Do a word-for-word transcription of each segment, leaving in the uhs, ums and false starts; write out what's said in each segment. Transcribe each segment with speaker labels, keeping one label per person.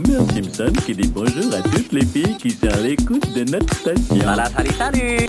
Speaker 1: Homer Simpson qui dit bonjour à toutes les filles qui sont à l'écoute de notre station.
Speaker 2: Voilà, salut, salut.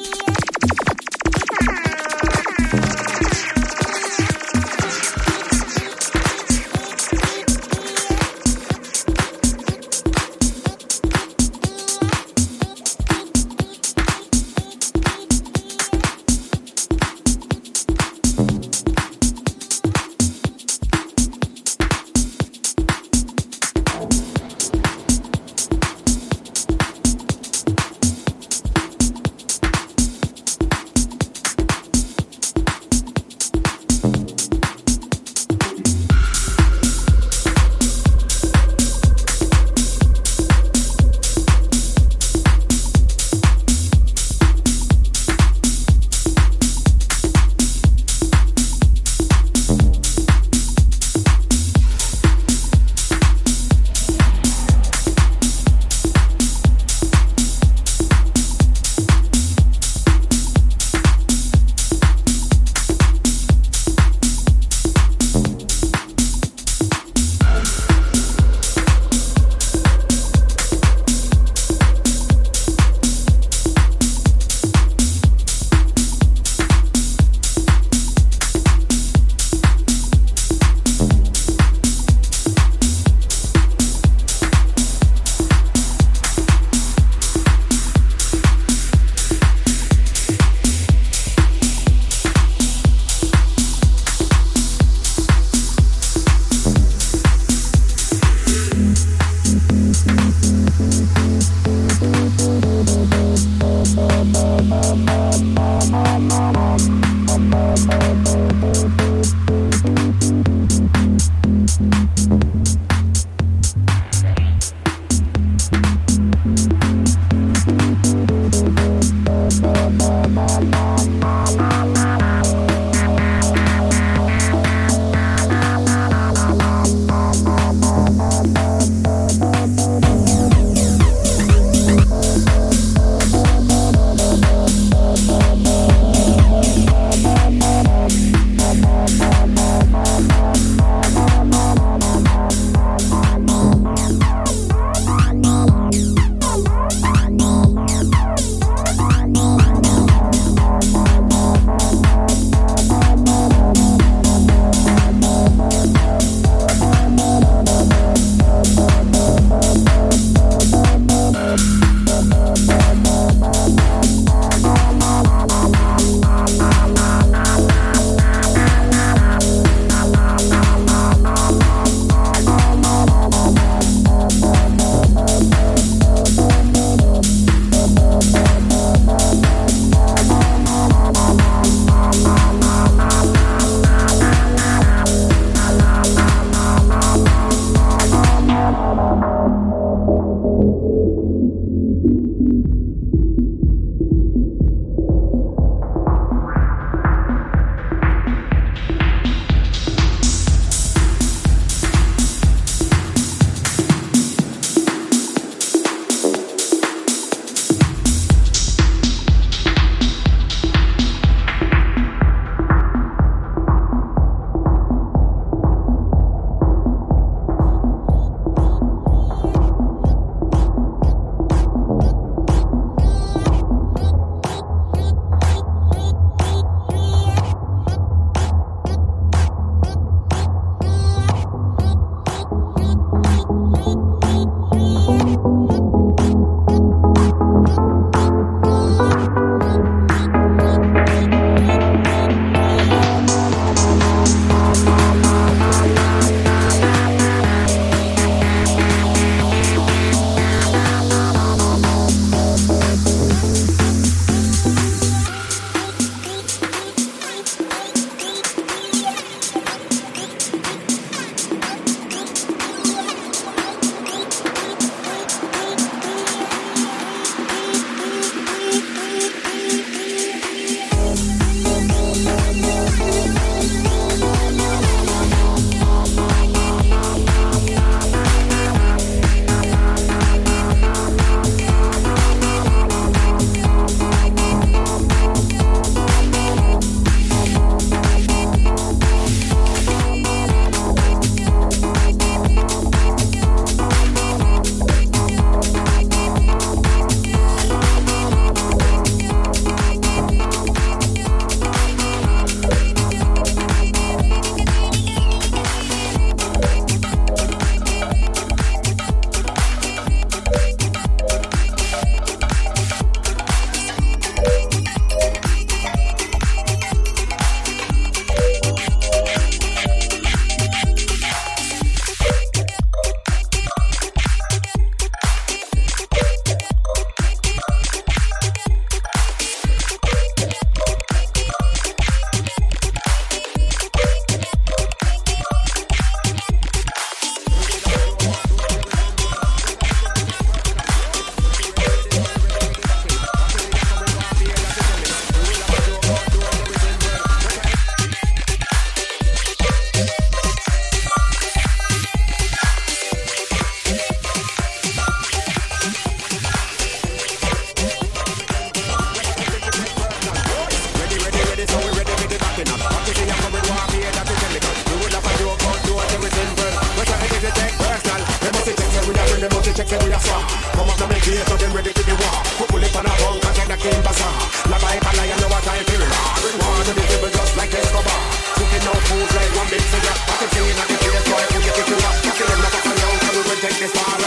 Speaker 2: on me face, so them ready to the war. Put bullet on a bunk and get the king bazaar. La vibe and I know what I feel. Bring war to the people just like Escobar. Cooking out food like one big cigar. I can see it at the place, boy, who you kick you up. I feel them not up and down, so we will take this far.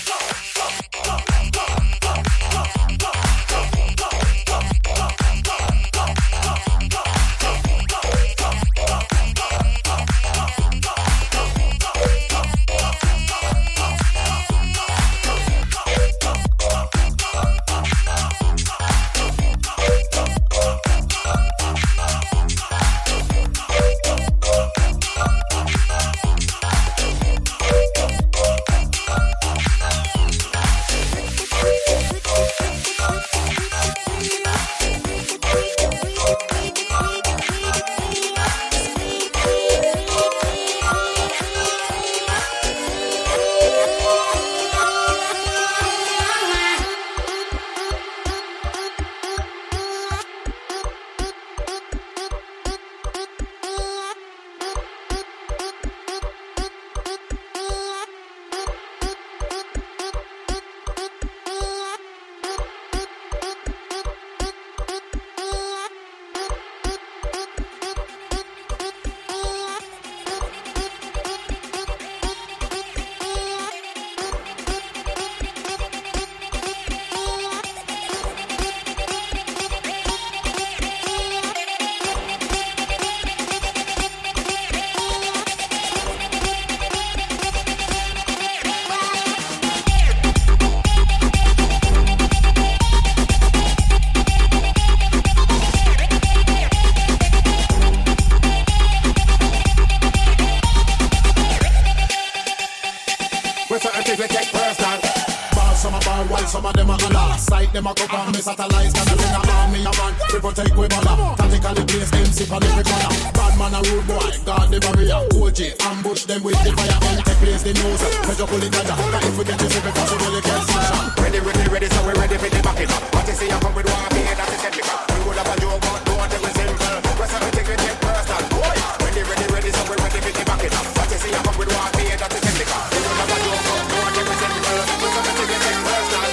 Speaker 3: Some of them are Allah, sight them a cup and me satellites. Cause I sing a army a man, we protect we bother. Tactically place them sip on every corner. Bad man a rude boy, guard the barrier. O G, ambush them with the fire. And take place the news, measure pull it dagger. Cause if we get this every possible, you can smash up.
Speaker 2: Ready, ready, ready, so we ready for the back it up. What you see I come with one beer, that's a technical. We would have a joke, but don't want to be simple. Rest of the thing we take personal. Ready, ready, ready, so we ready for the back it up. What you see I come with one beer, that's a technical. We would have a joke, but don't want to be simple. Rest of the thing we take personal.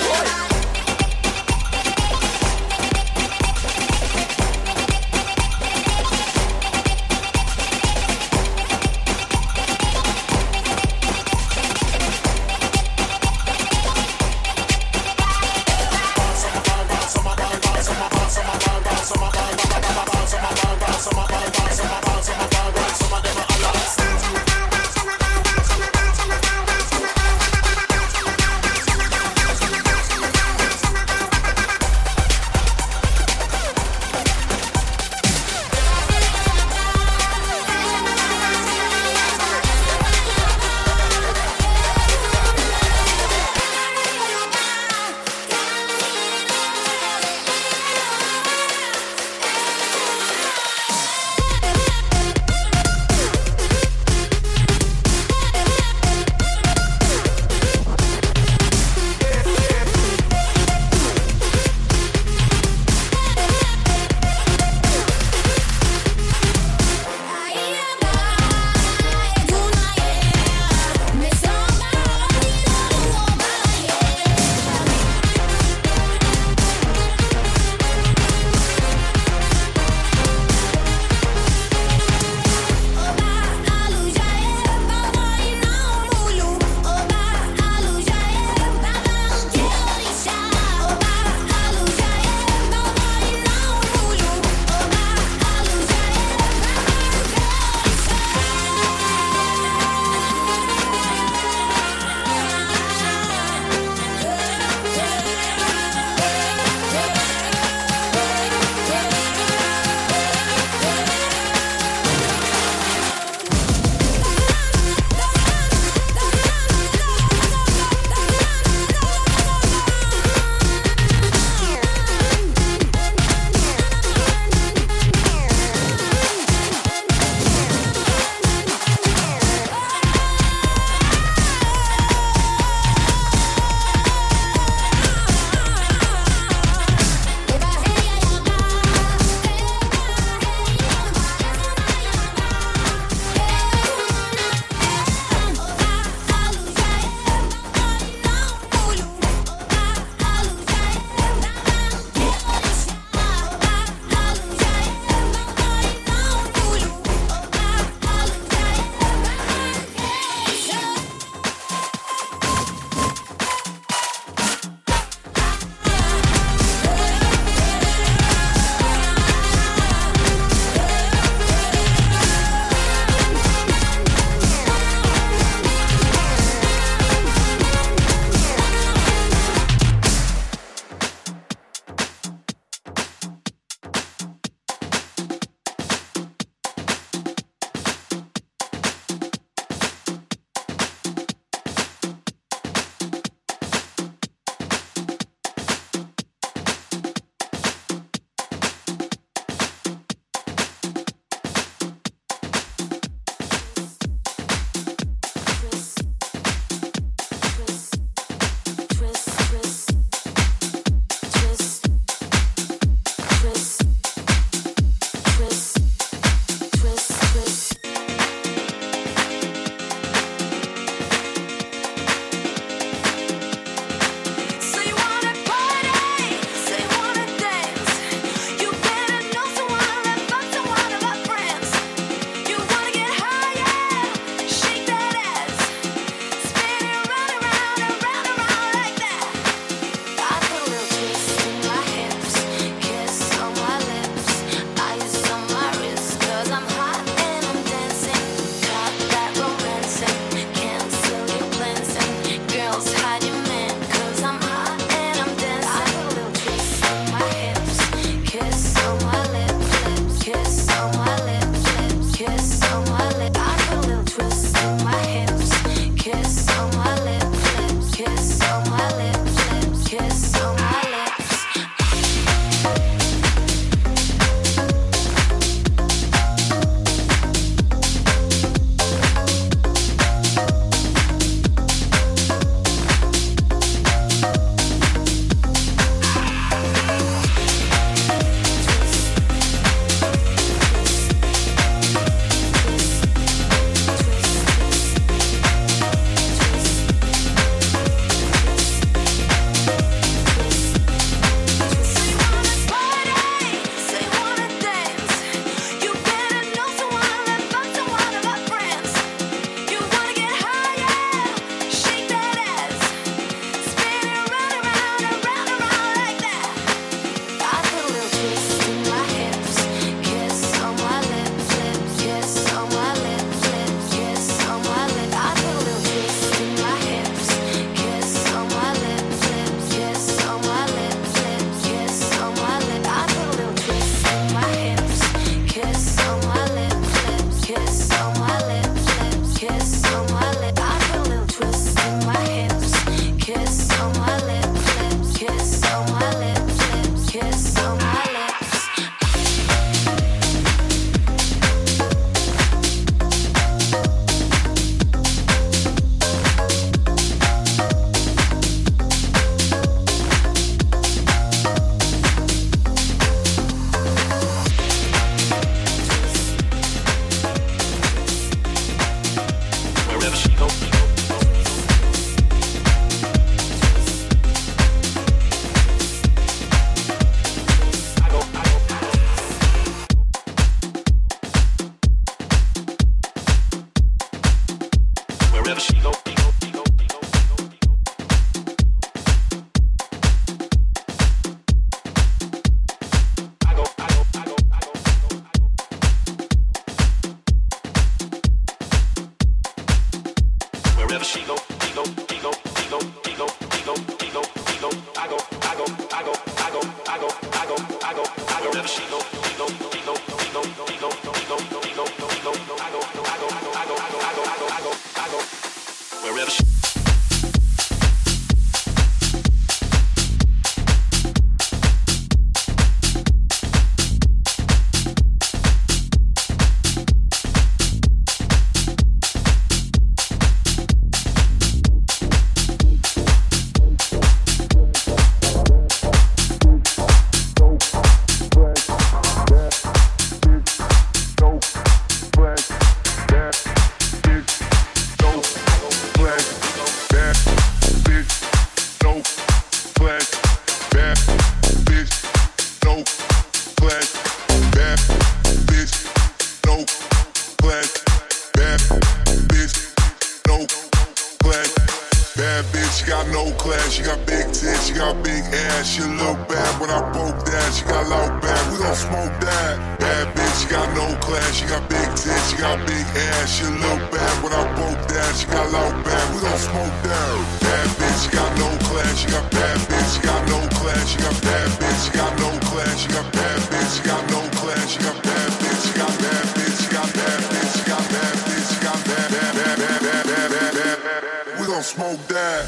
Speaker 4: ass. She look bad when I broke that. She got low back. We gon' smoke that. Bad bitch, she got no class. She got big tits. She got big ass. She look bad when I broke that. She got low back. We gon' smoke that. Bad bitch, she got no class. She got bad bitch. She got no class. She got bad bitch. She got no class. She got bad bitch. She got no class. She got bad bitch. She got bad bitch. She got bad bitch. She got bad bitch. She got bad bad bad bad bad bad bad bad. We gon' smoke that.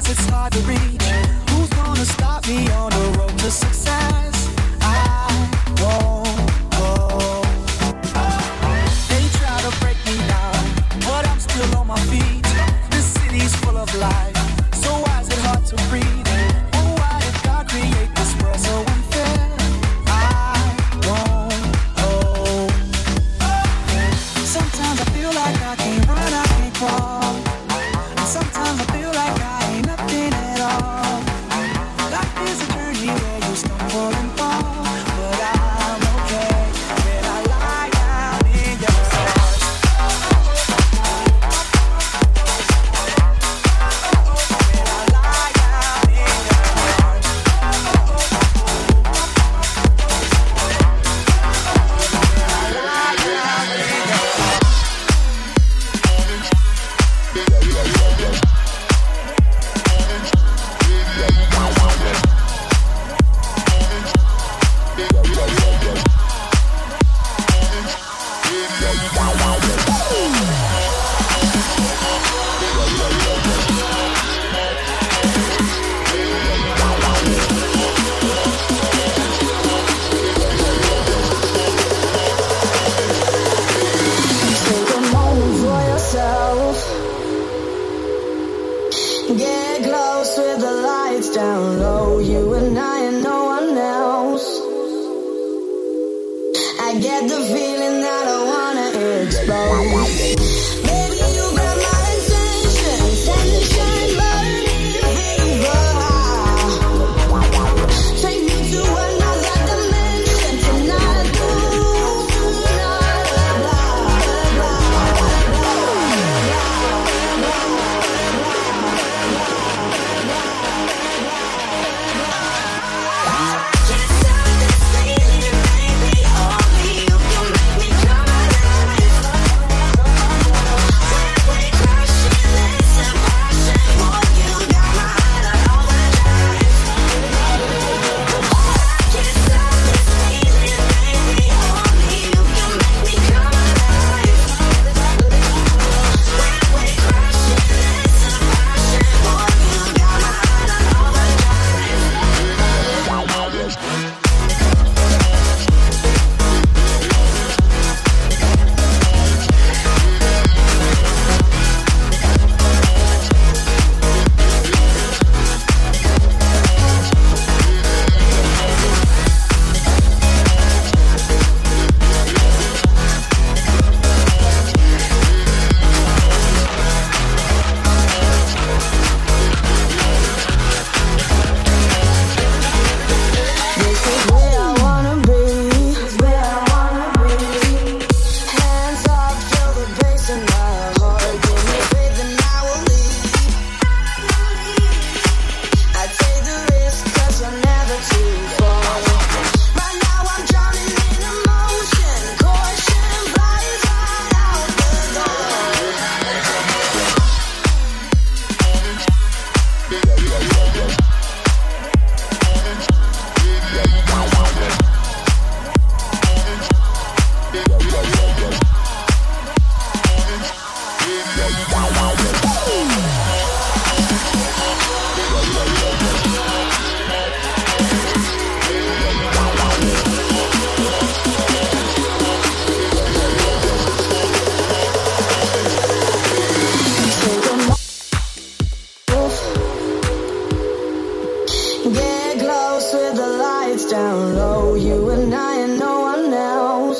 Speaker 5: guess it's hard to reach. Who's gonna stop me on the road to success? I won't go. They try to break me down, but I'm still on my feet. This city's full of life, so why is it hard to breathe? Oh, why did God create this world so unfair? I won't go. Sometimes I feel like I can't run, I can't crawl. And sometimes I feel like I ain't nothing at all. Life is a journey where you stumble and fall, but I'm okay when I lie down in your arms. When I lie down in your arms. When I lie down in your arms.
Speaker 6: Take a moment for yourself. Get close with the lights down low. You and I and no one else. I get the feeling that I wanna explode. Baby, you got my attention. Tension burning fever high. Take me to another dimension tonight. Ooh, tonight. Can't stop this feeling, baby. Only you can make me come alive. When we crashing, listen, passion. Boy, you got my heart on overdrive. Can't stop this feeling, baby. Only you can make me come alive. When we crashing, listen, passion. Boy, you got my heart on overdrive. This is where I wanna be. Where I wanna be. Hands up, feel the bass in my heart. Give me faith and I will lead. I take the risk 'cause I'm never too far. Right now I'm drowning in emotion. Caution flies right out the door. Take a moment. Get close with the lights down low. You and I and no one else.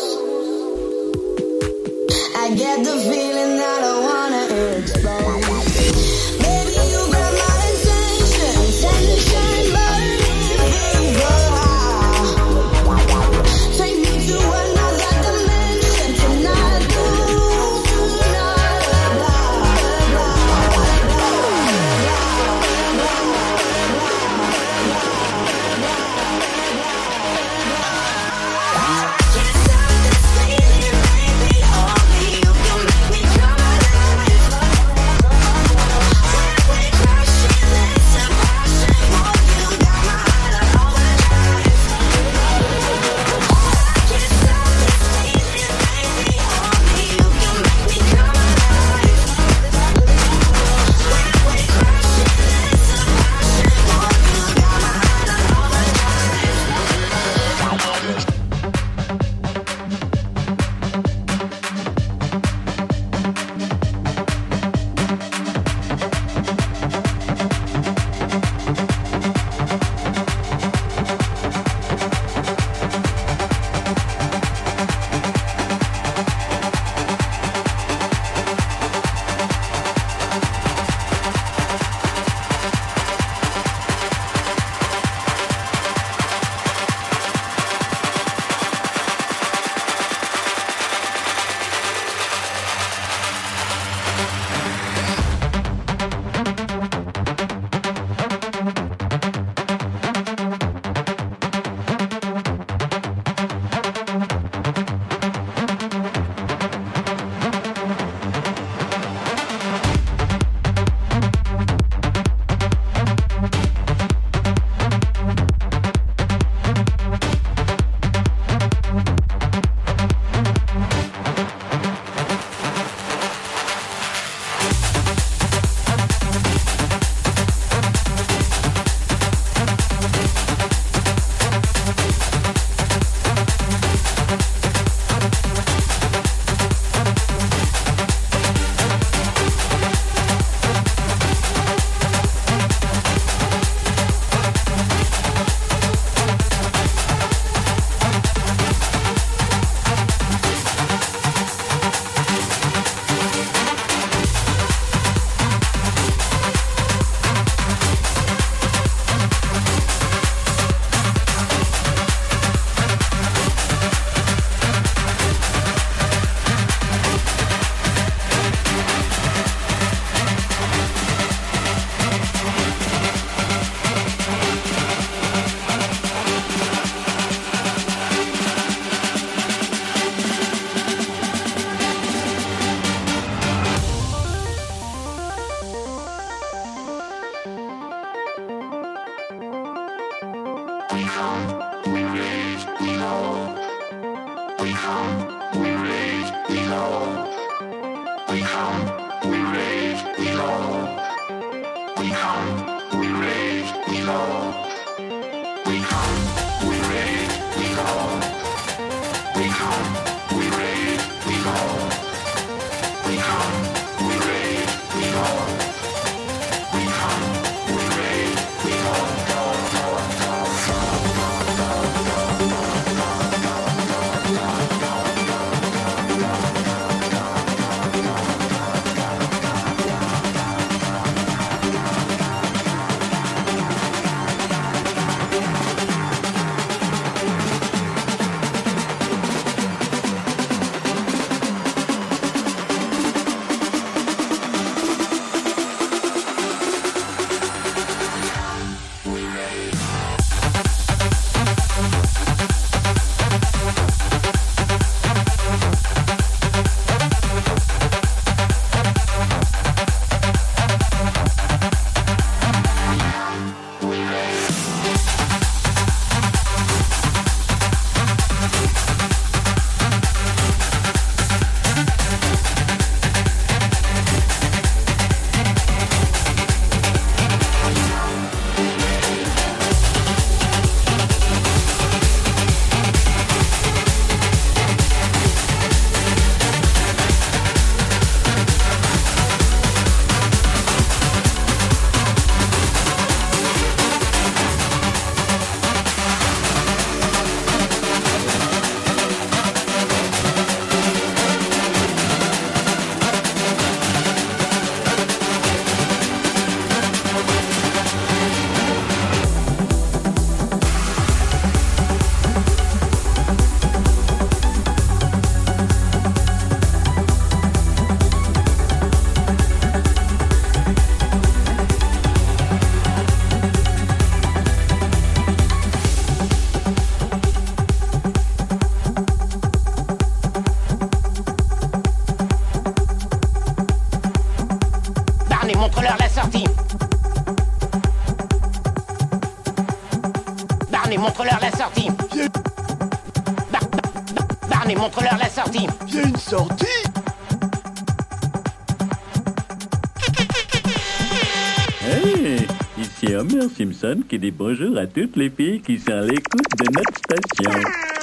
Speaker 6: I get the feeling that I wanna explode. Baby, you got my attention. Tension burning fever high. Take me to another dimension tonight. Ooh, tonight.
Speaker 7: montre-leur la sortie. Barney, montre-leur la sortie. Bar Bar Barney, montre-leur la sortie.
Speaker 8: Il y a une sortie?
Speaker 1: Hey, ici Homer Simpson qui dit bonjour à toutes les filles qui sont à l'écoute de notre station.